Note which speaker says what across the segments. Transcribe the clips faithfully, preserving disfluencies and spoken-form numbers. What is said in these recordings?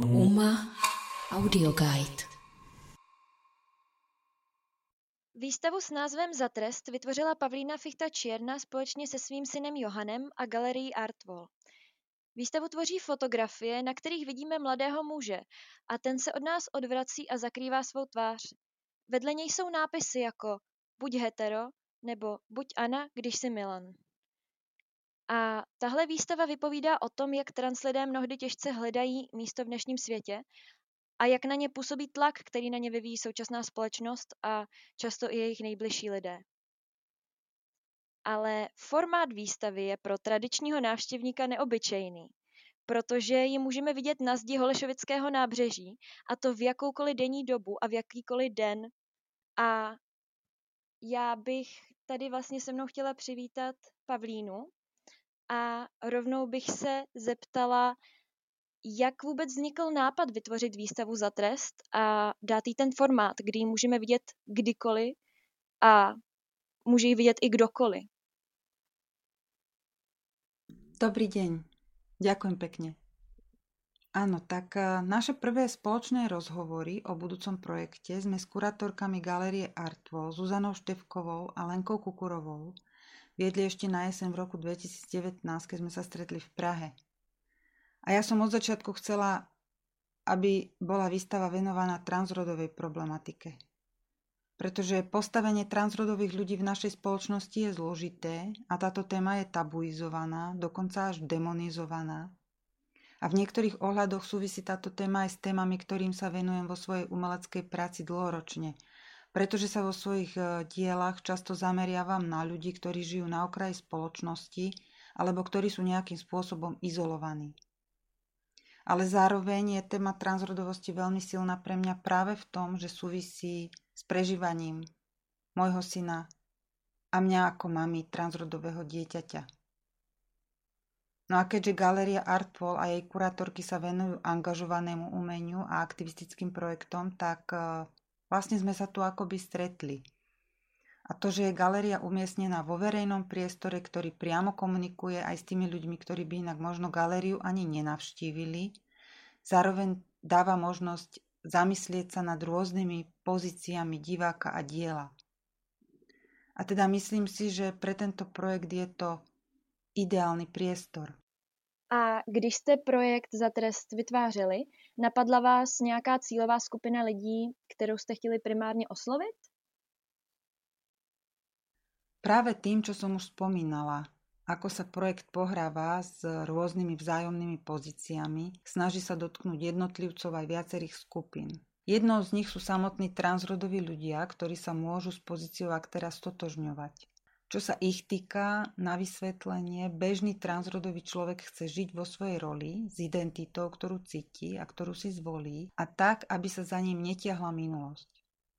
Speaker 1: Uma Audioguide.
Speaker 2: Výstavu s názvem Za trest vytvořila Pavlína Fichta Čierna společně se svým synem Johannem a galerií Artwall. Výstavu tvoří fotografie, na kterých vidíme mladého muže a ten se od nás odvrací a zakrývá svou tvář. Vedle něj jsou nápisy jako buď hetero nebo buď Anna, když jsi Milan. A tahle výstava vypovídá o tom, jak trans lidé mnohdy těžce hledají místo v dnešním světě a jak na ně působí tlak, který na ně vyvíjí současná společnost a často i jejich nejbližší lidé. Ale formát výstavy je pro tradičního návštěvníka neobyčejný, protože ji můžeme vidět na zdi Holešovického nábřeží, a to v jakoukoliv denní dobu a v jakýkoliv den. A já bych tady vlastně se mnou chtěla přivítat Pavlínu a rovnou bych se zeptala, jak vůbec vznikl nápad vytvořit výstavu Za trest a dát jí ten formát, kdy ji můžeme vidět kdykoliv a může ji vidět i kdokoliv.
Speaker 3: Dobrý deň. Ďakujem pekne. Áno, tak naše prvé spoločné rozhovory o budúcom projekte sme s kurátorkami Galérie Artwall, Zuzanou Štefkovou a Lenkou Kukurovou viedli ešte na jeseň v roku dvetisícdevätnásť, keď sme sa stretli v Prahe. A ja som od začiatku chcela, aby bola výstava venovaná transrodovej problematike. Pretože postavenie transrodových ľudí v našej spoločnosti je zložité a táto téma je tabuizovaná, dokonca až demonizovaná. A v niektorých ohľadoch súvisí táto téma aj s témami, ktorým sa venujem vo svojej umeleckej práci dlhoročne. Pretože sa vo svojich dielach často zameriavam na ľudí, ktorí žijú na okraji spoločnosti alebo ktorí sú nejakým spôsobom izolovaní. Ale zároveň je téma transrodovosti veľmi silná pre mňa práve v tom, že súvisí s prežívaním môjho syna a mňa ako mami transrodového dieťaťa. No a keďže Galéria Artwall a jej kurátorky sa venujú angažovanému umeniu a aktivistickým projektom, tak vlastne sme sa tu akoby stretli. A to, že je galéria umiestnená vo verejnom priestore, ktorý priamo komunikuje aj s tými ľuďmi, ktorí by inak možno galériu ani nenavštívili, zároveň dáva možnosť zamyslieť sa nad rôznymi pozíciami diváka a diela. A teda myslím si, že pre tento projekt je to ideálny priestor.
Speaker 2: A když jste projekt Za trest vytvářeli, napadla vás nějaká cílová skupina lidí, kterou jste chtěli primárně oslovit?
Speaker 3: Práve tým, čo som už spomínala, ako sa projekt pohráva s rôznymi vzájomnými pozíciami, snaží sa dotknúť jednotlivcov aj viacerých skupín. Jednou z nich sú samotní transrodoví ľudia, ktorí sa môžu s pozíciou aktéra stotožňovať. Čo sa ich týka, na vysvetlenie, bežný transrodový človek chce žiť vo svojej roli s identitou, ktorú cíti a ktorú si zvolí, a tak, aby sa za ním netiahla minulosť.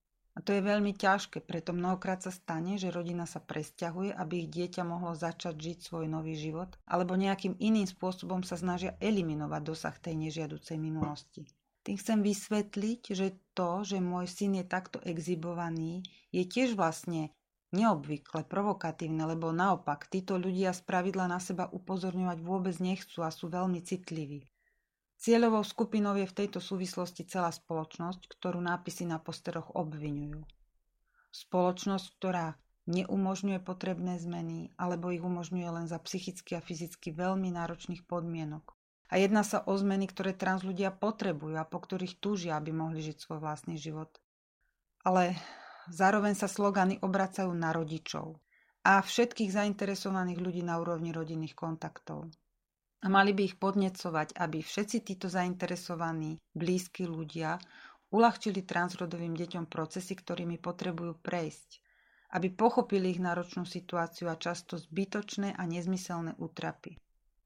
Speaker 3: A to je veľmi ťažké, preto mnohokrát sa stane, že rodina sa presťahuje, aby ich dieťa mohlo začať žiť svoj nový život, alebo nejakým iným spôsobom sa snažia eliminovať dosah tej nežiaducej minulosti. Tým chcem vysvetliť, že to, že môj syn je takto exhibovaný, je tiež vlastne neobvykle provokatívne, lebo naopak, títo ľudia spravidla na seba upozorňovať vôbec nechcú a sú veľmi citliví. Cieľovou skupinou je v tejto súvislosti celá spoločnosť, ktorú nápisy na posteroch obviňujú. Spoločnosť, ktorá neumožňuje potrebné zmeny, alebo ich umožňuje len za psychicky a fyzicky veľmi náročných podmienok. A jedná sa o zmeny, ktoré trans ľudia potrebujú a po ktorých túžia, aby mohli žiť svoj vlastný život. Ale zároveň sa slogany obracajú na rodičov a všetkých zainteresovaných ľudí na úrovni rodinných kontaktov. A mali by ich podnecovať, aby všetci títo zainteresovaní, blízki ľudia uľahčili transrodovým deťom procesy, ktorými potrebujú prejsť, aby pochopili ich náročnú situáciu a často zbytočné a nezmyselné útrapy.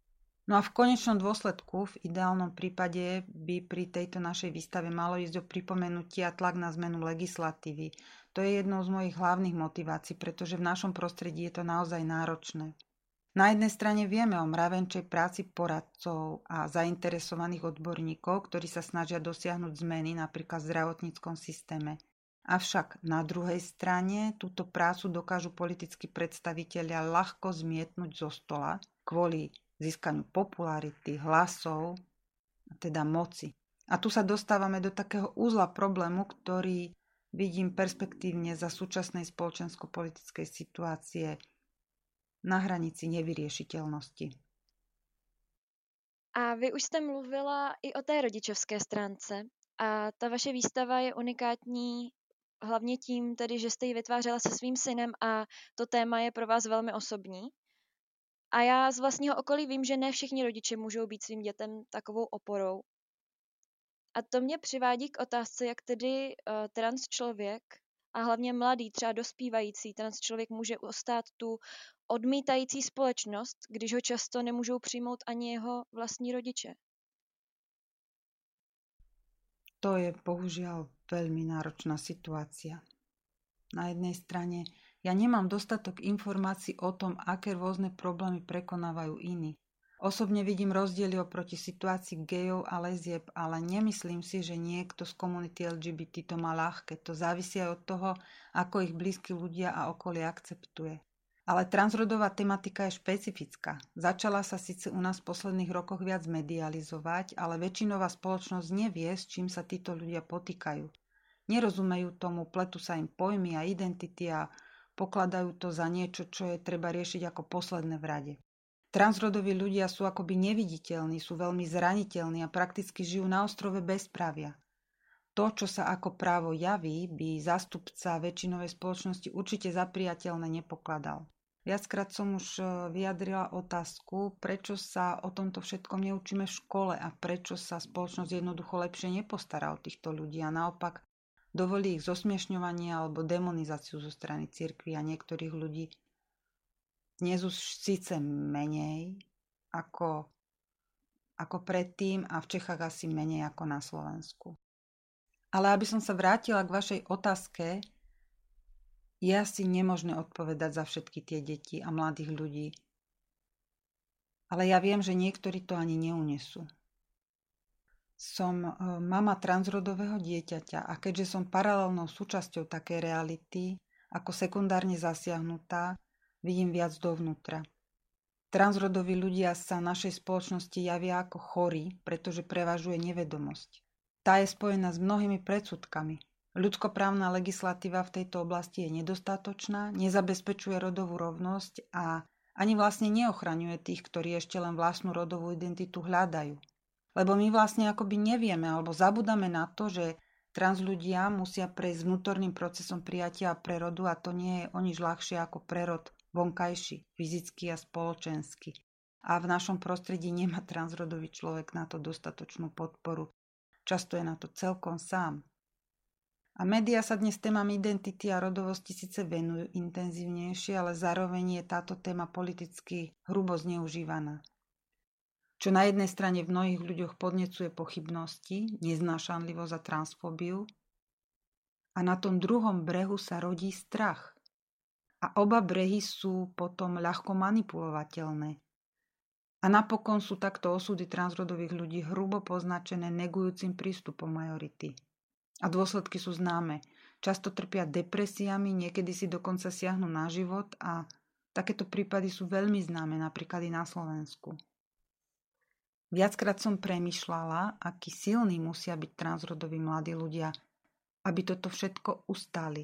Speaker 3: No a v konečnom dôsledku, v ideálnom prípade, by pri tejto našej výstave malo ísť o pripomenutie a tlak na zmenu legislatívy. To je jednou z mojich hlavných motivácií, pretože v našom prostredí je to naozaj náročné. Na jednej strane vieme o mravenčej práci poradcov a zainteresovaných odborníkov, ktorí sa snažia dosiahnuť zmeny napríklad v zdravotníckom systéme. Avšak na druhej strane túto prácu dokážu politickí predstavitelia ľahko zmietnúť zo stola kvôli získaniu popularity, hlasov, teda moci. A tu sa dostávame do takého úzla problému, ktorý vidím perspektívne za súčasnej spoločensko-politickej situácie na hranici nevyriešiteľnosti.
Speaker 2: A vy už jste mluvila i o té rodičovské stránce. A ta vaše výstava je unikátní hlavně tím, tedy, že jste ji vytvářela se svým synem a to téma je pro vás velmi osobní. A já z vlastního okolí vím, že ne všichni rodiče můžou být svým dětem takovou oporou. A to mě přivádí k otázce, jak tedy uh, trans člověk a hlavně mladý, třeba dospívající trans člověk může ustát tu odmítající společnost, když ho často nemůžou přijmout ani jeho vlastní rodiče.
Speaker 3: To je bohužiaľ veľmi náročná situácia. Na jednej strane ja nemám dostatok informácií o tom, aké rôzne problémy prekonávajú iní. Osobne vidím rozdiely oproti situácii gejov a lezieb, ale nemyslím si, že niekto z komunity el gé bé té to má ľahké. To závisí aj od toho, ako ich blízki ľudia a okolie akceptuje. Ale transrodová tematika je špecifická. Začala sa síce u nás v posledných rokoch viac medializovať, ale väčšinová spoločnosť nevie, s čím sa títo ľudia potýkajú. Nerozumejú tomu, pletú sa im pojmy a identity a pokladajú to za niečo, čo je treba riešiť ako posledné v rade. Transrodoví ľudia sú akoby neviditeľní, sú veľmi zraniteľní a prakticky žijú na ostrove bezprávia. To, čo sa ako právo javí, by zástupca väčšinovej spoločnosti určite za priateľné nepokladal. Viackrát som už vyjadrila otázku, prečo sa o tomto všetkom neučíme v škole a prečo sa spoločnosť jednoducho lepšie nepostará o týchto ľudí a naopak dovolí ich zosmiešňovanie alebo demonizáciu zo strany cirkvi a niektorých ľudí. Dnes už síce menej ako, ako predtým a v Čechách asi menej ako na Slovensku. Ale aby som sa vrátila k vašej otázke, je asi nemožné odpovedať za všetky tie deti a mladých ľudí. Ale ja viem, že niektorí to ani neunesú. Som mama transrodového dieťaťa a keďže som paralelnou súčasťou takej reality, ako sekundárne zasiahnutá, vidím viac dovnútra. Transrodoví ľudia sa našej spoločnosti javia ako chorí, pretože prevažuje nevedomosť. Tá je spojená s mnohými predsudkami. Ľudskoprávna legislatíva v tejto oblasti je nedostatočná, nezabezpečuje rodovú rovnosť a ani vlastne neochraňuje tých, ktorí ešte len vlastnú rodovú identitu hľadajú. Lebo my vlastne akoby nevieme alebo zabudáme na to, že trans ľudia musia prejsť vnútorným procesom prijatia a prerodu a to nie je o nič ľahšie ako prerod vonkajší, fyzický a spoločenský. A v našom prostredí nemá transrodový človek na to dostatočnú podporu. Často je na to celkom sám. A médiá sa dnes témam identity a rodovosti síce venujú intenzívnejšie, ale zároveň je táto téma politicky hrubo zneužívaná. Čo na jednej strane v mnohých ľuďoch podnecuje pochybnosti, neznášanlivosť a transfóbiu, a na tom druhom brehu sa rodí strach. A oba brehy sú potom ľahko manipulovateľné. A napokon sú takto osudy transrodových ľudí hrubo poznačené negujúcim prístupom majority. A dôsledky sú známe. Často trpia depresiami, niekedy si dokonca siahnu na život a takéto prípady sú veľmi známe, napríklad i na Slovensku. Viackrát som premýšľala, akí silní musia byť transrodoví mladí ľudia, aby toto všetko ustáli.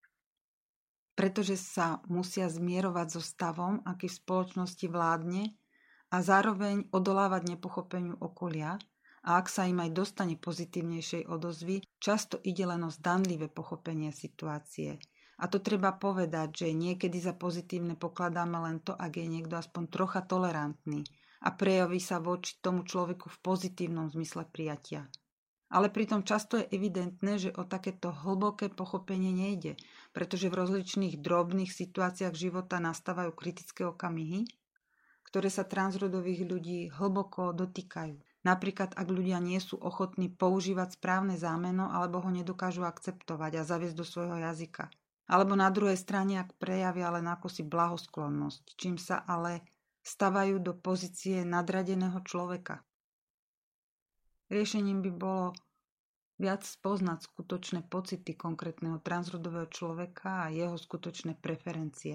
Speaker 3: Pretože sa musia zmierovať so stavom, aký v spoločnosti vládne, a zároveň odolávať nepochopeniu okolia a ak sa im aj dostane pozitívnejšej odozvy, často ide len o zdanlivé pochopenie situácie. A to treba povedať, že niekedy za pozitívne pokladáme len to, ak je niekto aspoň trocha tolerantný a prejaví sa voči tomu človeku v pozitívnom zmysle prijatia. Ale pritom často je evidentné, že o takéto hlboké pochopenie nejde, pretože v rozličných drobných situáciách života nastávajú kritické okamihy, ktoré sa transrodových ľudí hlboko dotýkajú. Napríklad, ak ľudia nie sú ochotní používať správne zámeno alebo ho nedokážu akceptovať a zaviesť do svojho jazyka. Alebo na druhej strane, ak prejavia len akosi blahosklonnosť, čím sa ale stavajú do pozície nadradeného človeka. Riešením by bolo viac spoznať skutočné pocity konkrétneho transrodového človeka a jeho skutočné preferencie.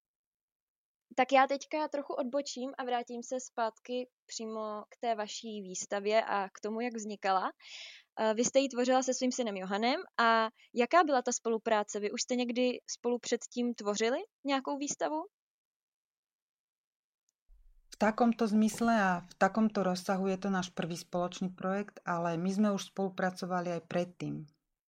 Speaker 2: Tak já teďka trochu odbočím a vrátím se zpátky přímo k té vaší výstavě a k tomu, jak vznikala. Vy jste ji tvořila se svým synem Johannem a jaká byla ta spolupráce? Vy už jste někdy spolu předtím tvořili nějakou výstavu?
Speaker 3: V takomto zmysle a v takomto rozsahu je to náš prvý spoločný projekt, ale my sme už spolupracovali aj predtým.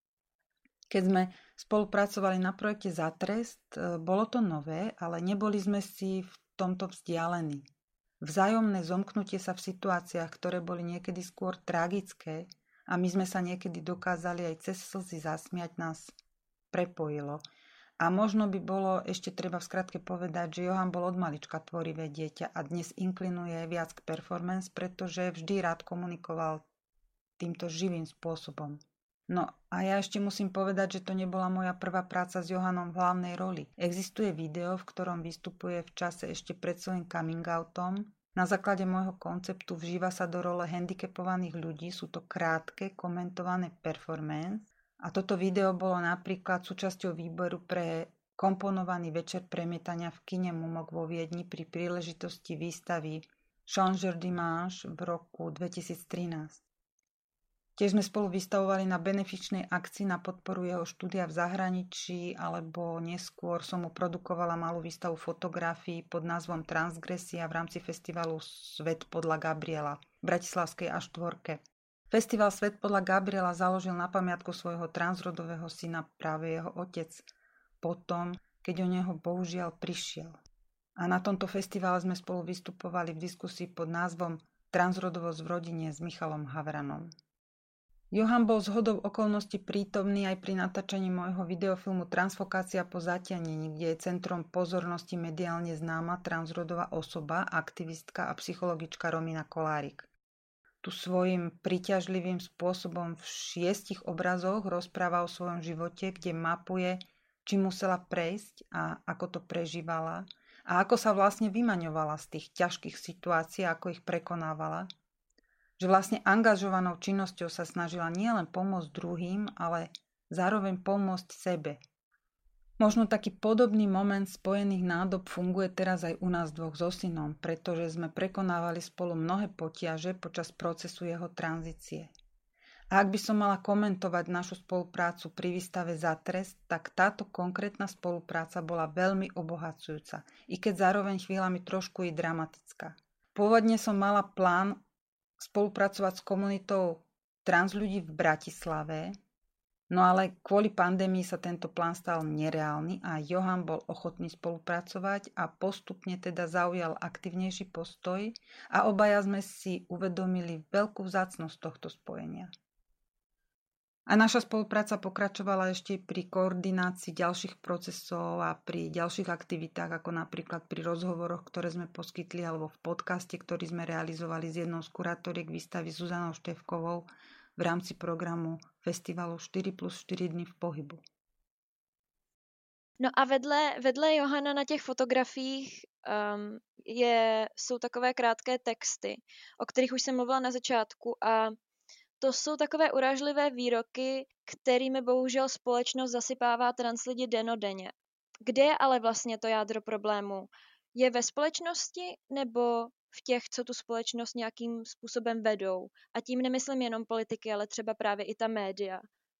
Speaker 3: Keď sme spolupracovali na projekte Za trest, bolo to nové, ale neboli sme si v tomto vzdialení. Vzájomné zomknutie sa v situáciách, ktoré boli niekedy skôr tragické a my sme sa niekedy dokázali aj cez slzy zasmiať, nás prepojilo. A možno by bolo ešte treba v skratke povedať, že Johan bol od malička tvorivé dieťa a dnes inklinuje viac k performance, pretože vždy rád komunikoval týmto živým spôsobom. No a ja ešte musím povedať, že to nebola moja prvá práca s Johanom v hlavnej roli. Existuje video, v ktorom vystupuje v čase ešte pred svojím coming outom. Na základe môjho konceptu vžíva sa do role handicapovaných ľudí, sú to krátke, komentované performance. A toto video bolo napríklad súčasťou výboru pre komponovaný večer premietania v kine Mumok vo Viedni pri príležitosti výstavy Changer Dimanche v roku dvetisíctrinásť. Tiež sme spolu vystavovali na benefičnej akcii na podporu jeho štúdia v zahraničí, alebo neskôr som mu produkovala malú výstavu fotografií pod názvom Transgresia v rámci festivalu Svet podľa Gabriela v bratislavskej á štyri. Festival Svet podľa Gabriela založil na pamiatku svojho transrodového syna práve jeho otec, potom, keď o neho bohužiaľ prišiel. A na tomto festivale sme spolu vystupovali v diskusii pod názvom Transrodovosť v rodine s Michalom Havranom. Johan bol zhodou okolností prítomný aj pri natáčaní môjho videofilmu Transfokácia po zatiahnení, kde je centrom pozornosti mediálne známa transrodová osoba, aktivistka a psychologička Romina Kolárik. Tu svojím príťažlivým spôsobom v šiestich obrazoch rozpráva o svojom živote, kde mapuje, či musela prejsť a ako to prežívala a ako sa vlastne vymaňovala z tých ťažkých situácií, ako ich prekonávala. Že vlastne angažovanou činnosťou sa snažila nielen pomôcť druhým, ale zároveň pomôcť sebe. Možno taký podobný moment spojených nádob funguje teraz aj u nás dvoch so synom, pretože sme prekonávali spolu mnohé potiaže počas procesu jeho tranzície. A ak by som mala komentovať našu spoluprácu pri výstave Za trest, tak táto konkrétna spolupráca bola veľmi obohacujúca, i keď zároveň chvíľami trošku i dramatická. Pôvodne som mala plán spolupracovať s komunitou trans ľudí v Bratislave, no ale kvôli pandémii sa tento plán stal nereálny a Johan bol ochotný spolupracovať a postupne teda zaujal aktivnejší postoj a obaja sme si uvedomili veľkú vzácnosť tohto spojenia. A naša spolupráca pokračovala ešte pri koordinácii ďalších procesov a pri ďalších aktivitách, ako napríklad pri rozhovoroch, ktoré sme poskytli, alebo v podcaste, ktorý sme realizovali s jednou z kurátoriek výstavy Zuzanou Števkovou v rámci programu festivalu štyri plus štyri dny v pohybu.
Speaker 2: No a vedle, vedle Johana na těch fotografiích um, je, jsou takové krátké texty, o kterých už jsem mluvila na začátku a to jsou takové urážlivé výroky, kterými bohužel společnost zasypává trans lidi dennodenně. Kde je ale vlastně to jádro problému? Je ve společnosti nebo v těch, co tu společnost nějakým způsobem vedou? A tím nemyslím jenom politiky, ale třeba právě i ta média.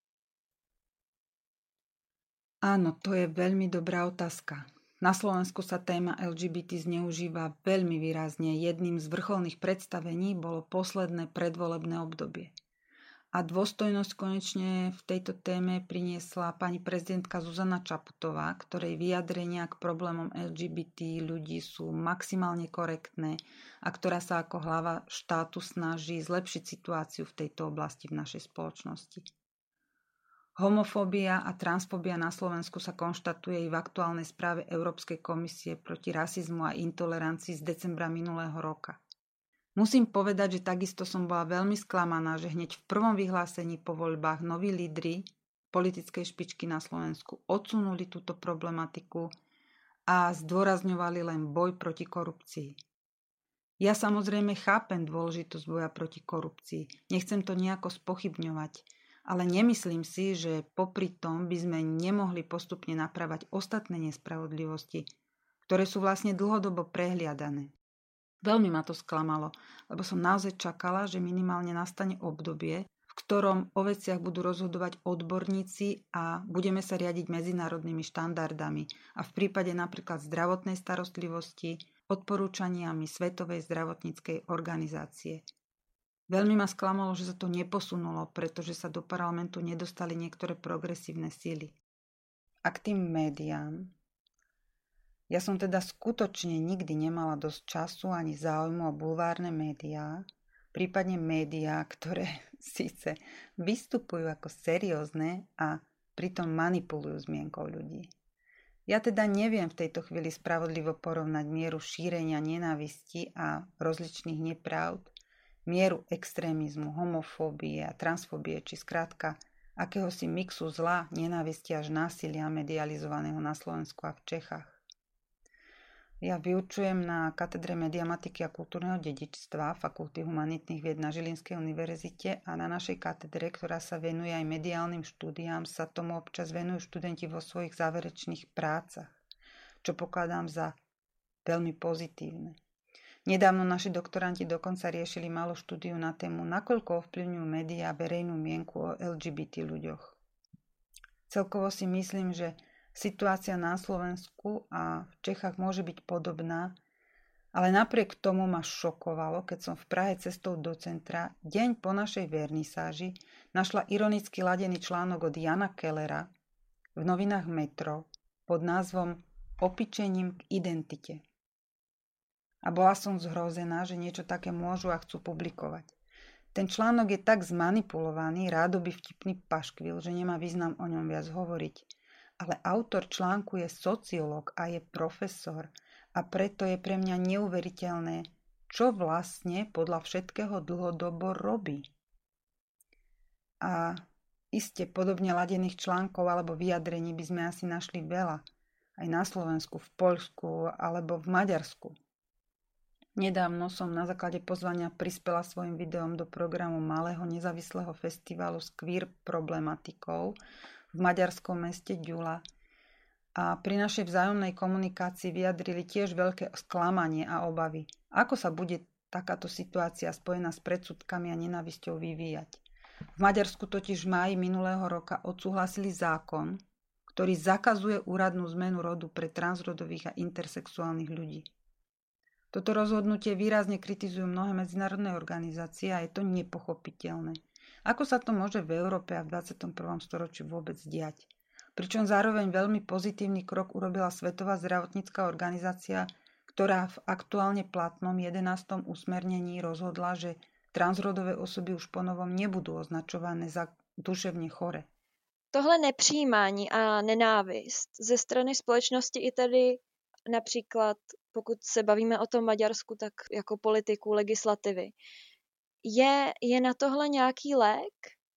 Speaker 3: Áno, to je veľmi dobrá otázka. Na Slovensku sa téma el gé bé té zneužíva veľmi výrazne. Jedným z vrcholných predstavení bolo posledné predvolebné obdobie. A dôstojnosť konečne v tejto téme priniesla pani prezidentka Zuzana Čaputová, ktorej vyjadrenia k problémom el gé bé té ľudí sú maximálne korektné a ktorá sa ako hlava štátu snaží zlepšiť situáciu v tejto oblasti v našej spoločnosti. Homofóbia a transfóbia na Slovensku sa konštatuje i v aktuálnej správe Európskej komisie proti rasizmu a intolerancii z decembra minulého roka. Musím povedať, že takisto som bola veľmi sklamaná, že hneď v prvom vyhlásení po voľbách noví lídri politickej špičky na Slovensku odsunuli túto problematiku a zdôrazňovali len boj proti korupcii. Ja samozrejme chápem dôležitosť boja proti korupcii, nechcem to nejako spochybňovať, ale nemyslím si, že popri tom by sme nemohli postupne napravať ostatné nespravodlivosti, ktoré sú vlastne dlhodobo prehliadané. Veľmi ma to sklamalo, lebo som naozaj čakala, že minimálne nastane obdobie, v ktorom o veciach budú rozhodovať odborníci a budeme sa riadiť medzinárodnými štandardami a v prípade napríklad zdravotnej starostlivosti odporúčaniami Svetovej zdravotníckej organizácie. Veľmi ma sklamalo, že sa to neposunulo, pretože sa do parlamentu nedostali niektoré progresívne síly. A k tým médiám. Ja som teda skutočne nikdy nemala dosť času ani záujmu o bulvárne médiá, prípadne médiá, ktoré síce vystupujú ako seriózne a pritom manipulujú zmienkou ľudí. Ja teda neviem v tejto chvíli spravodlivo porovnať mieru šírenia nenávisti a rozličných nepravd, mieru extrémizmu, homofóbie a transfóbie, či skrátka akéhosi mixu zla, nenávisti až násilia medializovaného na Slovensku a v Čechách. Ja vyučujem na katedre mediamatiky a kultúrneho dedičstva Fakulty humanitných vied na Žilinskej univerzite a na našej katedre, ktorá sa venuje aj mediálnym štúdiám, sa tomu občas venujú študenti vo svojich záverečných prácach, čo pokladám za veľmi pozitívne. Nedávno naši doktoranti dokonca riešili malú štúdiu na tému, nakoľko ovplyvňujú médiá verejnú mienku o el gé bé té ľuďoch. Celkovo si myslím, že situácia na Slovensku a v Čechách môže byť podobná, ale napriek tomu ma šokovalo, keď som v Prahe cestou do centra deň po našej vernisáži našla ironicky ladený článok od Jana Kellera v novinách Metro pod názvom Opičením k identite. A bola som zhrozená, že niečo také môžu a chcú publikovať. Ten článok je tak zmanipulovaný, rádoby vtipný paškvil, že nemá význam o ňom viac hovoriť. Ale autor článku je sociológ a je profesor a preto je pre mňa neuveriteľné, čo vlastne podľa všetkého dlhodobo robí. A iste podobne ladených článkov alebo vyjadrení by sme asi našli veľa. Aj na Slovensku, v Poľsku alebo v Maďarsku. Nedávno som na základe pozvania prispela svojim videom do programu malého nezávislého festivalu s queer problematikou v maďarskom meste Gyula a pri našej vzájomnej komunikácii vyjadrili tiež veľké sklamanie a obavy, ako sa bude takáto situácia spojená s predsudkami a nenávisťou vyvíjať. V Maďarsku totiž v máji minulého roka odsúhlasili zákon, ktorý zakazuje úradnú zmenu rodu pre transrodových a intersexuálnych ľudí. Toto rozhodnutie výrazne kritizujú mnohé medzinárodné organizácie a je to nepochopiteľné. Ako sa to môže v Európe a v dvadsiatom prvom storočí vôbec diať? Pričom zároveň veľmi pozitívny krok urobila Svetová zdravotnícka organizácia, ktorá v aktuálne platnom jedenástom usmernení rozhodla, že transrodové osoby už ponovom nebudú označované za duševně chore.
Speaker 2: Tohle nepřijímání a nenávist ze strany společnosti i tedy například, pokud se bavíme o tom Maďarsku, tak jako politiku, legislativy, Je, je na tohle nějaký lék?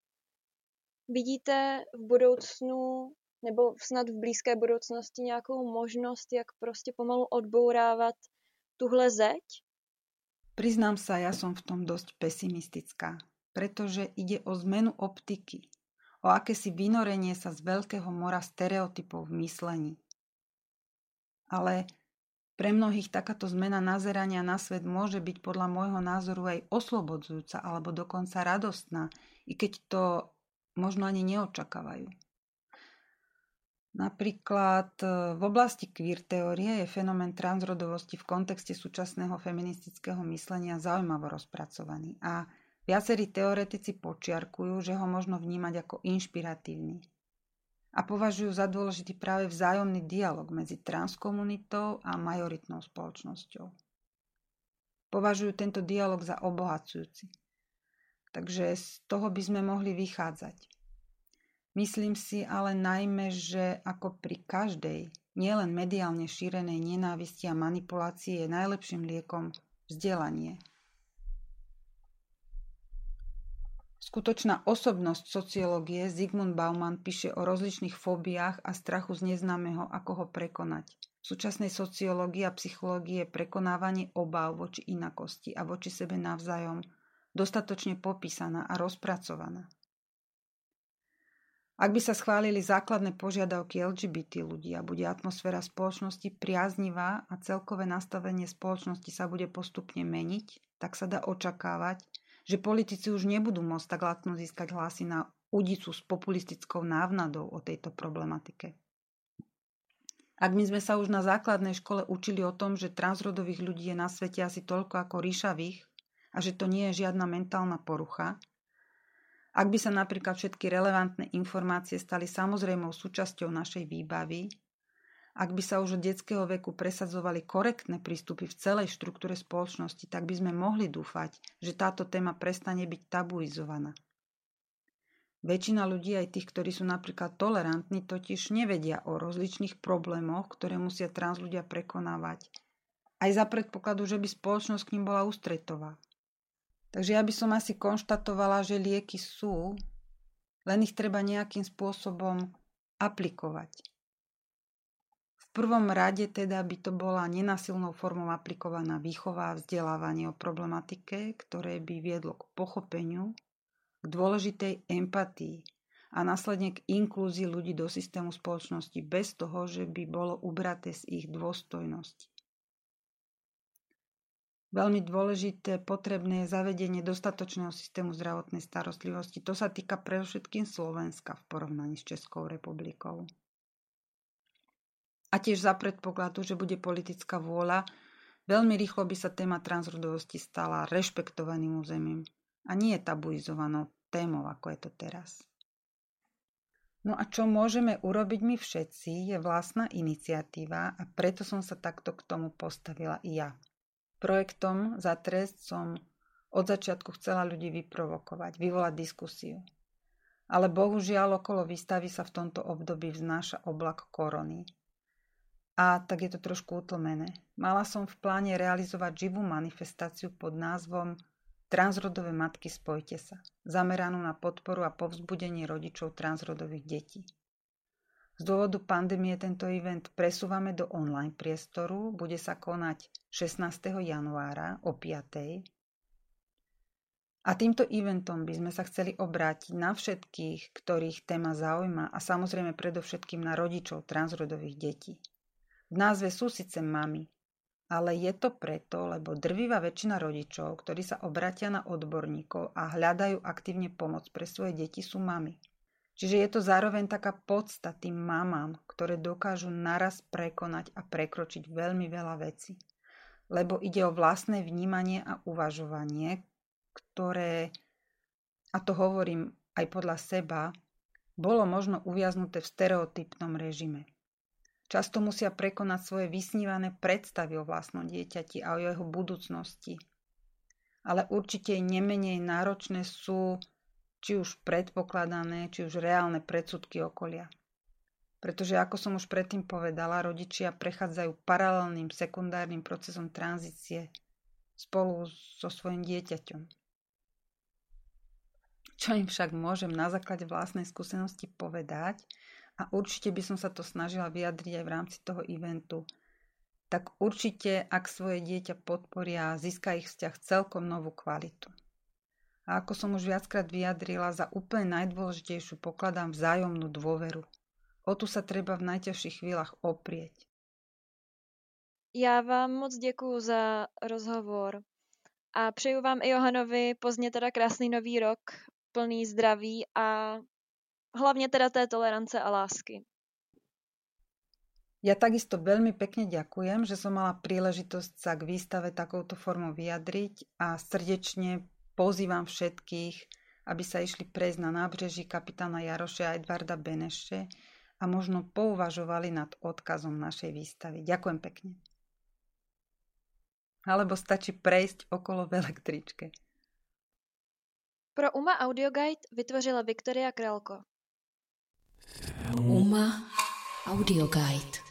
Speaker 2: Vidíte v budoucnu, nebo snad v blízké budoucnosti nějakou možnost, jak prostě pomalu odbourávat tuhle zeď?
Speaker 3: Priznám sa, ja som v tom dosť pesimistická, pretože ide o zmenu optiky, o akési vynorenie sa z veľkého mora stereotypov v myslení. Ale pre mnohých takáto zmena nazerania na svet môže byť podľa môjho názoru aj oslobodzujúca alebo dokonca radostná, i keď to možno ani neočakávajú. Napríklad v oblasti queer teórie je fenomén transrodovosti v kontexte súčasného feministického myslenia zaujímavo rozpracovaný a viacerí teoretici počiarkujú, že ho možno vnímať ako inšpiratívny. A považujú za dôležitý práve vzájomný dialog medzi transkomunitou a majoritnou spoločnosťou. Považujú tento dialog za obohacujúci. Takže z toho by sme mohli vychádzať. Myslím si ale najmä, že ako pri každej, nielen mediálne šírenej nenávisti a manipulácii je najlepším liekom vzdelanie. Skutočná osobnosť sociológie Zygmunt Bauman píše o rozličných fóbiách a strachu z neznámeho, ako ho prekonať. V súčasnej sociológii a psychológii je prekonávanie obáv voči inakosti a voči sebe navzájom dostatočne popísaná a rozpracovaná. Ak by sa schválili základné požiadavky el gé bé té ľudí a bude atmosféra spoločnosti priaznivá a celkové nastavenie spoločnosti sa bude postupne meniť, tak sa dá očakávať, že politici už nebudú môcť tak ľahko získať hlasy na udicu s populistickou návnadou o tejto problematike. Ak my sme sa už na základnej škole učili o tom, že transrodových ľudí je na svete asi toľko ako ríšavých a že to nie je žiadna mentálna porucha, ak by sa napríklad všetky relevantné informácie stali samozrejmou súčasťou našej výbavy, ak by sa už od detského veku presadzovali korektné prístupy v celej štruktúre spoločnosti, tak by sme mohli dúfať, že táto téma prestane byť tabuizovaná. Väčšina ľudí, aj tých, ktorí sú napríklad tolerantní, totiž nevedia o rozličných problémoch, ktoré musia trans ľudia prekonávať. Aj za predpokladu, že by spoločnosť k nim bola ústretová. Takže ja by som asi konštatovala, že lieky sú, len ich treba nejakým spôsobom aplikovať. V prvom rade teda by to bola nenasilnou formou aplikovaná výchova a vzdelávanie o problematike, ktoré by viedlo k pochopeniu, k dôležitej empatii a následne k inklúzii ľudí do systému spoločnosti bez toho, že by bolo ubraté z ich dôstojnosti. Veľmi dôležité, potrebné je zavedenie dostatočného systému zdravotnej starostlivosti. To sa týka predovšetkým Slovenska v porovnaní s Českou republikou. A tiež za predpokladu, že bude politická vôľa, veľmi rýchlo by sa téma transrodovosti stala rešpektovaným územím a nie je tabuizovanou témou, ako je to teraz. No a čo môžeme urobiť my všetci, je vlastná iniciatíva a preto som sa takto k tomu postavila i ja. Projektom Za trest som od začiatku chcela ľudí vyprovokovať, vyvolať diskusiu. Ale bohužiaľ okolo výstavy sa v tomto období vznáša oblak korony. A tak je to trošku utlmené. Mala som v pláne realizovať živú manifestáciu pod názvom Transrodové matky, spojte sa, zameranú na podporu a povzbudenie rodičov transrodových detí. Z dôvodu pandémie tento event presúvame do online priestoru, bude sa konať šestnásteho januára o piatej. A týmto eventom by sme sa chceli obrátiť na všetkých, ktorých téma zaujíma a samozrejme predovšetkým na rodičov transrodových detí. V názve sú síce mami, ale je to preto, lebo drvivá väčšina rodičov, ktorí sa obratia na odborníkov a hľadajú aktívne pomoc pre svoje deti, sú mami. Čiže je to zároveň taká podsta tým mamám, ktoré dokážu naraz prekonať a prekročiť veľmi veľa vecí. Lebo ide o vlastné vnímanie a uvažovanie, ktoré, a to hovorím aj podľa seba, bolo možno uviaznuté v stereotypnom režime. Často musia prekonať svoje vysnívané predstavy o vlastnom dieťati a o jeho budúcnosti. Ale určite nemenej náročné sú či už predpokladané, či už reálne predsudky okolia. Pretože ako som už predtým povedala, rodičia prechádzajú paralelným sekundárnym procesom tranzície spolu so svojím dieťaťom. Čo im však môžem na základe vlastnej skúsenosti povedať, a určite by som sa to snažila vyjadriť aj v rámci toho eventu, tak určite, ak svoje dieťa podporia, získa ich vzťah celkom novú kvalitu. A ako som už viackrát vyjadrila, za úplne najdôležitejšiu pokladám vzájomnú dôveru. O tu sa treba v najťažších chvíľach oprieť.
Speaker 2: Já vám moc děkuju za rozhovor a přeju vám i Johanovi pozdě teda krásný nový rok, plný zdraví a hlavne teda té tolerance a lásky.
Speaker 3: Ja takisto veľmi pekne ďakujem, že som mala príležitosť sa k výstave takouto formou vyjadriť a srdečne pozývam všetkých, aby sa išli prejsť na nábřeží kapitána Jaroše a Edvarda Beneše a možno pouvažovali nad odkazom našej výstavy. Ďakujem pekne. Alebo stačí prejsť okolo v električke.
Speaker 2: Pro UMA Audioguide vytvořila Viktoria Králko.
Speaker 1: UMA Audioguide.